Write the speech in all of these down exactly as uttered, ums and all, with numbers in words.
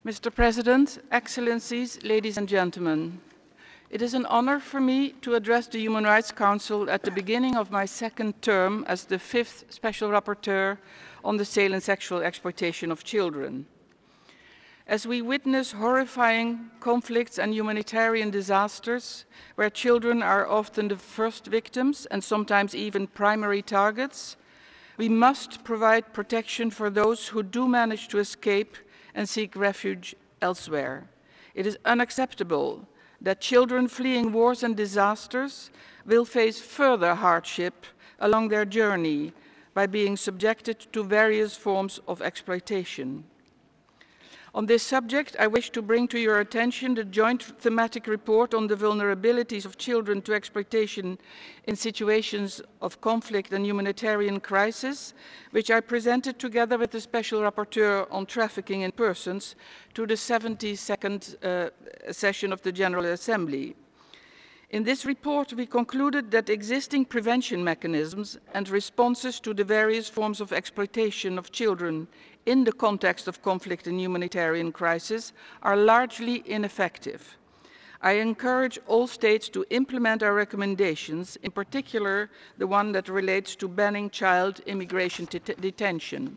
Mister President, Excellencies, ladies and gentlemen, it is an honor for me to address the Human Rights Council at the beginning of my second term as the fifth Special Rapporteur on the sale and sexual exploitation of children. As we witness horrifying conflicts and humanitarian disasters, where children are often the first victims and sometimes even primary targets, we must provide protection for those who do manage to escape and seek refuge elsewhere. It is unacceptable that children fleeing wars and disasters will face further hardship along their journey by being subjected to various forms of exploitation. On this subject, I wish to bring to your attention the joint thematic report on the vulnerabilities of children to exploitation in situations of conflict and humanitarian crisis, which I presented together with the Special Rapporteur on trafficking in persons to the seventy-second uh, session of the General Assembly. In this report, we concluded that existing prevention mechanisms and responses to the various forms of exploitation of children in the context of conflict and humanitarian crisis are largely ineffective. I encourage all states to implement our recommendations, in particular the one that relates to banning child immigration detention.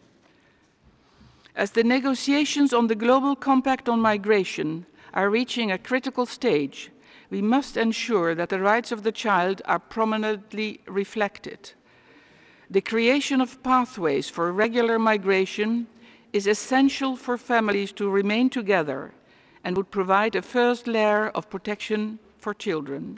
As the negotiations on the Global Compact on Migration are reaching a critical stage, we must ensure that the rights of the child are prominently reflected. The creation of pathways for regular migration is essential for families to remain together and would provide a first layer of protection for children.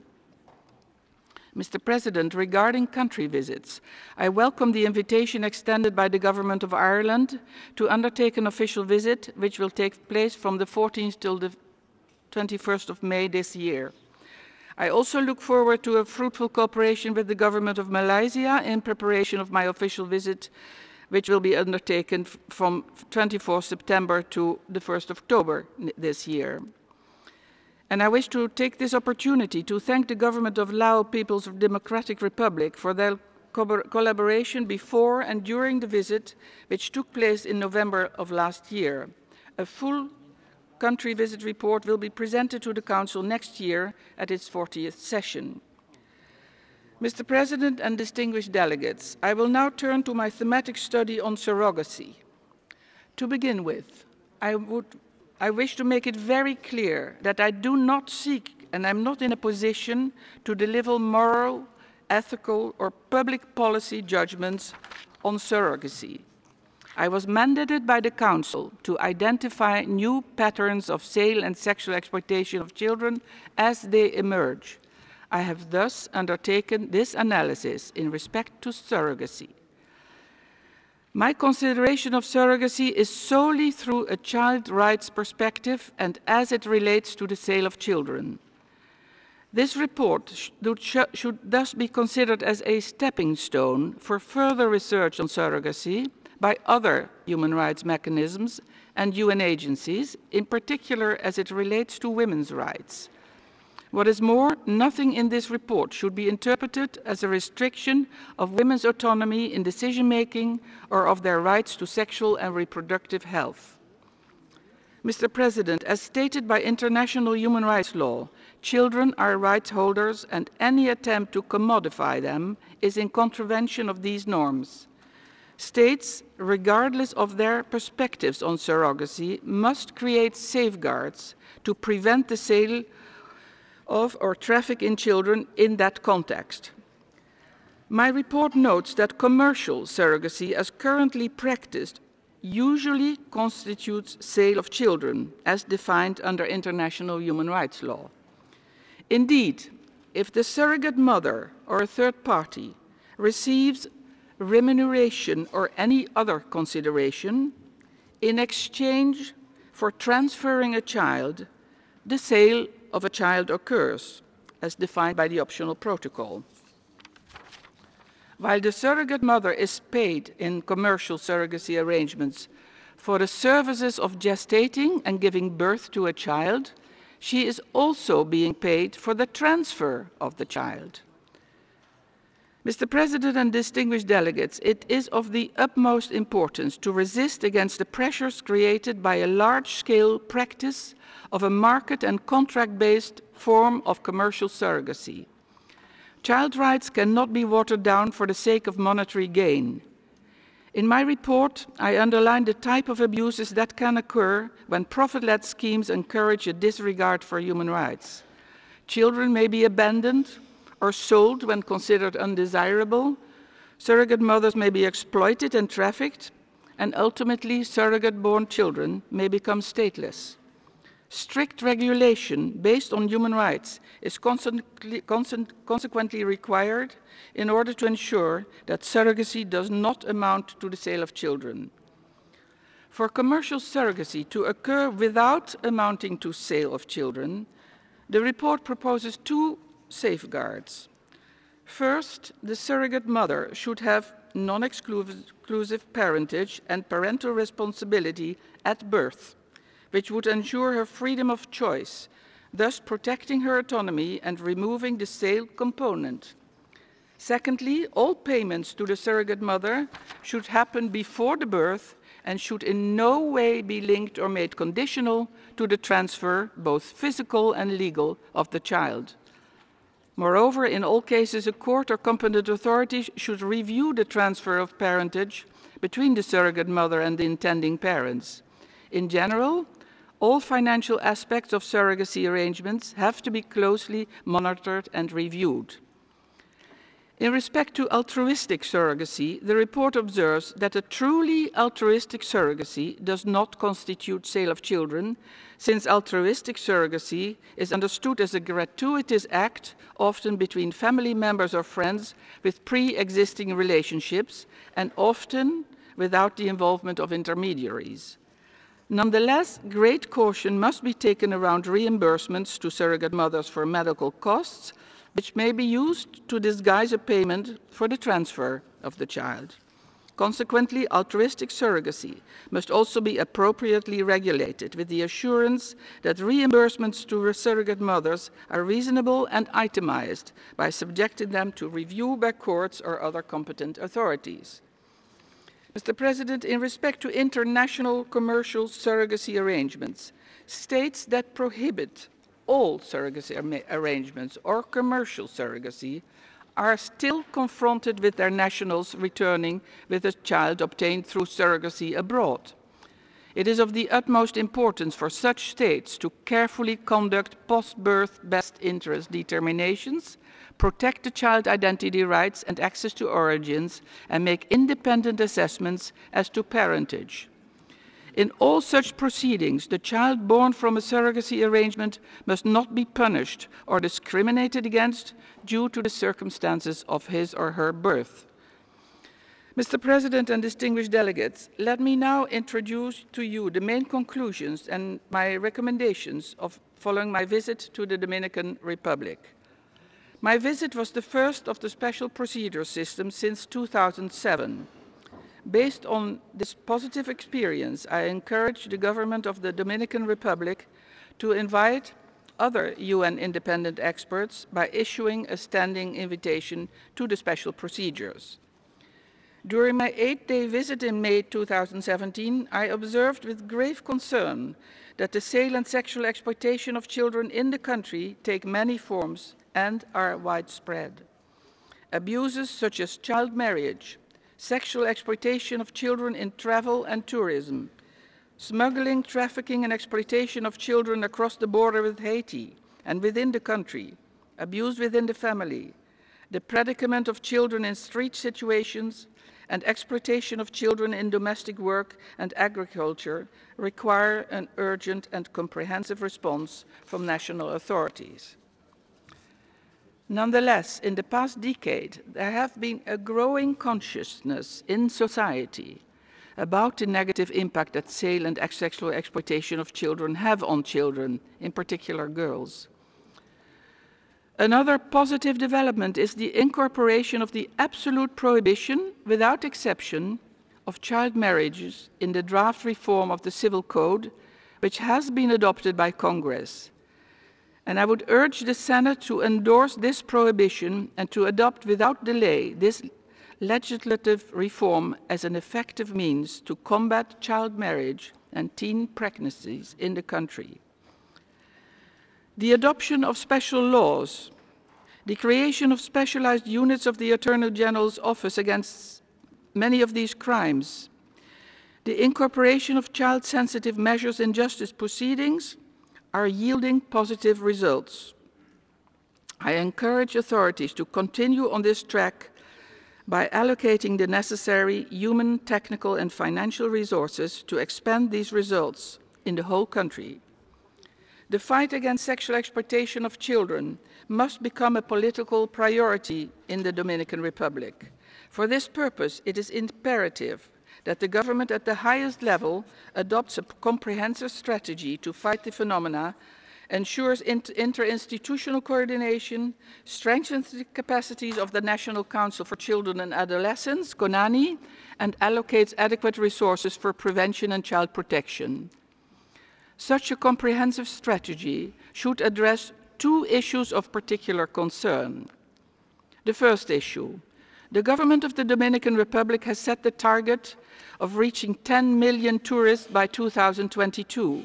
Mister President, regarding country visits, I welcome the invitation extended by the Government of Ireland to undertake an official visit, which will take place from the fourteenth till the twenty-first of May this year. I also look forward to a fruitful cooperation with the Government of Malaysia in preparation of my official visit, which will be undertaken from twenty-fourth September to the first of October this year. And I wish to take this opportunity to thank the Government of Laos People's Democratic Republic for their co collaboration before and during the visit, which took place in November of last year. A full country visit report will be presented to the Council next year at its fortieth session. Mister President and distinguished delegates, I will now turn to my thematic study on surrogacy. To begin with, I, would, I wish to make it very clear that I do not seek, and I'm not in a position to deliver moral, ethical, or public policy judgments on surrogacy. I was mandated by the Council to identify new patterns of sale and sexual exploitation of children as they emerge. I have thus undertaken this analysis in respect to surrogacy. My consideration of surrogacy is solely through a child rights perspective and as it relates to the sale of children. This report should thus be considered as a stepping stone for further research on surrogacy by other human rights mechanisms and U N agencies, in particular as it relates to women's rights. What is more, nothing in this report should be interpreted as a restriction of women's autonomy in decision-making or of their rights to sexual and reproductive health. Mister President, as stated by international human rights law, children are rights holders and any attempt to commodify them is in contravention of these norms. States, regardless of their perspectives on surrogacy, must create safeguards to prevent the sale of or traffic in children in that context. My report notes that commercial surrogacy as currently practiced usually constitutes sale of children as defined under international human rights law. Indeed, if the surrogate mother or a third party receives remuneration or any other consideration in exchange for transferring a child, the sale of a child occurs, as defined by the optional protocol. While the surrogate mother is paid in commercial surrogacy arrangements for the services of gestating and giving birth to a child, she is also being paid for the transfer of the child. Mister President and distinguished delegates, it is of the utmost importance to resist against the pressures created by a large-scale practice of a market and contract-based form of commercial surrogacy. Child rights cannot be watered down for the sake of monetary gain. In my report, I underline the type of abuses that can occur when profit-led schemes encourage a disregard for human rights. Children may be abandoned or sold when considered undesirable. Surrogate mothers may be exploited and trafficked, and ultimately surrogate-born children may become stateless. Strict regulation based on human rights is consequently, consequently required in order to ensure that surrogacy does not amount to the sale of children. For commercial surrogacy to occur without amounting to sale of children, the report proposes two safeguards. First, the surrogate mother should have non-exclusive parentage and parental responsibility at birth, which would ensure her freedom of choice, thus protecting her autonomy and removing the sale component. Secondly, all payments to the surrogate mother should happen before the birth and should in no way be linked or made conditional to the transfer, both physical and legal, of the child. Moreover, in all cases, a court or competent authority should review the transfer of parentage between the surrogate mother and the intending parents. In general, all financial aspects of surrogacy arrangements have to be closely monitored and reviewed. In respect to altruistic surrogacy, the report observes that a truly altruistic surrogacy does not constitute sale of children, since altruistic surrogacy is understood as a gratuitous act, often between family members or friends with pre-existing relationships, and often without the involvement of intermediaries. Nonetheless, great caution must be taken around reimbursements to surrogate mothers for medical costs, which may be used to disguise a payment for the transfer of the child. Consequently, altruistic surrogacy must also be appropriately regulated with the assurance that reimbursements to surrogate mothers are reasonable and itemized by subjecting them to review by courts or other competent authorities. Mister President, in respect to international commercial surrogacy arrangements, states that prohibit all surrogacy arrangements or commercial surrogacy are still confronted with their nationals returning with a child obtained through surrogacy abroad. It is of the utmost importance for such states to carefully conduct post-birth best interest determinations, protect the child identity rights and access to origins, and make independent assessments as to parentage. In all such proceedings, the child born from a surrogacy arrangement must not be punished or discriminated against due to the circumstances of his or her birth. Mister President and distinguished delegates, let me now introduce to you the main conclusions and my recommendations of following my visit to the Dominican Republic. My visit was the first of the special procedure system since two thousand seven. Based on this positive experience, I encourage the government of the Dominican Republic to invite other U N independent experts by issuing a standing invitation to the special procedures. During my eight-day visit in May two thousand seventeen, I observed with grave concern that the sale and sexual exploitation of children in the country take many forms and are widespread. Abuses such as child marriage, sexual exploitation of children in travel and tourism, smuggling, trafficking, and exploitation of children across the border with Haiti and within the country, abuse within the family, the predicament of children in street situations, and exploitation of children in domestic work and agriculture require an urgent and comprehensive response from national authorities. Nonetheless, in the past decade, there have been a growing consciousness in society about the negative impact that sale and sexual exploitation of children have on children, in particular girls. Another positive development is the incorporation of the absolute prohibition, without exception, of child marriages in the draft reform of the Civil Code, which has been adopted by Congress. And I would urge the Senate to endorse this prohibition and to adopt without delay this legislative reform as an effective means to combat child marriage and teen pregnancies in the country. The adoption of special laws, the creation of specialized units of the Attorney General's Office against many of these crimes, the incorporation of child-sensitive measures in justice proceedings are yielding positive results. I encourage authorities to continue on this track by allocating the necessary human, technical, and financial resources to expand these results in the whole country. The fight against sexual exploitation of children must become a political priority in the Dominican Republic. For this purpose, it is imperative that the government at the highest level adopts a comprehensive strategy to fight the phenomena, ensures inter interinstitutional coordination, strengthens the capacities of the National Council for Children and Adolescents, CONANI, and allocates adequate resources for prevention and child protection. Such a comprehensive strategy should address two issues of particular concern. The first issue: the government of the Dominican Republic has set the target of reaching ten million tourists by two thousand twenty-two.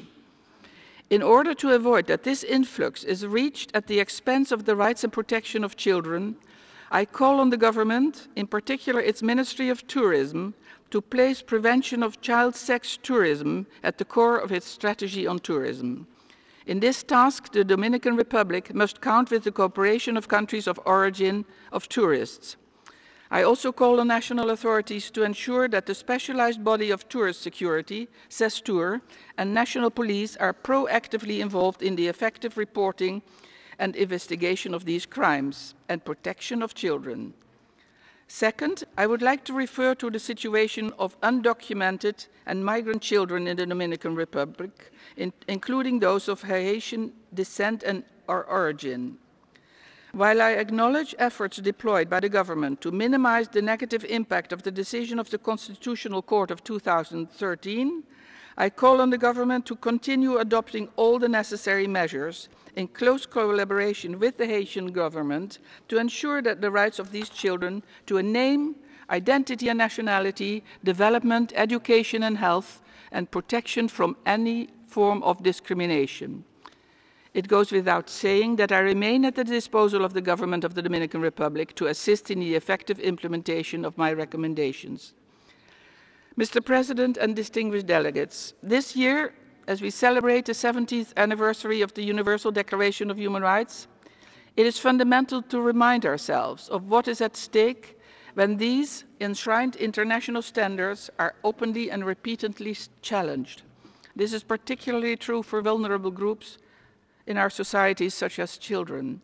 In order to avoid that this influx is reached at the expense of the rights and protection of children, I call on the government, in particular its Ministry of Tourism, to place prevention of child sex tourism at the core of its strategy on tourism. In this task, the Dominican Republic must count with the cooperation of countries of origin of tourists. I also call on national authorities to ensure that the specialized body of tourist security, CESTUR, and national police are proactively involved in the effective reporting and investigation of these crimes and protection of children. Second, I would like to refer to the situation of undocumented and migrant children in the Dominican Republic, in, including those of Haitian descent and or origin. While I acknowledge efforts deployed by the government to minimize the negative impact of the decision of the Constitutional Court of two thousand thirteen, I call on the government to continue adopting all the necessary measures in close collaboration with the Haitian government to ensure that the rights of these children to a name, identity and nationality, development, education and health, and protection from any form of discrimination. It goes without saying that I remain at the disposal of the government of the Dominican Republic to assist in the effective implementation of my recommendations. Mister President and distinguished delegates, this year, as we celebrate the seventieth anniversary of the Universal Declaration of Human Rights, it is fundamental to remind ourselves of what is at stake when these enshrined international standards are openly and repeatedly challenged. This is particularly true for vulnerable groups in our societies, such as children.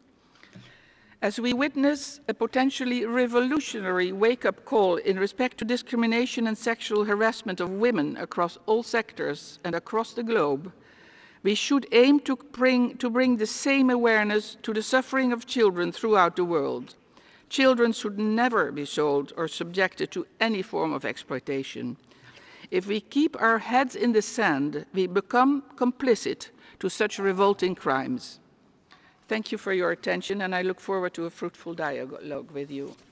As we witness a potentially revolutionary wake-up call in respect to discrimination and sexual harassment of women across all sectors and across the globe, we should aim to bring, to bring the same awareness to the suffering of children throughout the world. Children should never be sold or subjected to any form of exploitation. If we keep our heads in the sand, we become complicit to such revolting crimes. Thank you for your attention, and I look forward to a fruitful dialogue with you.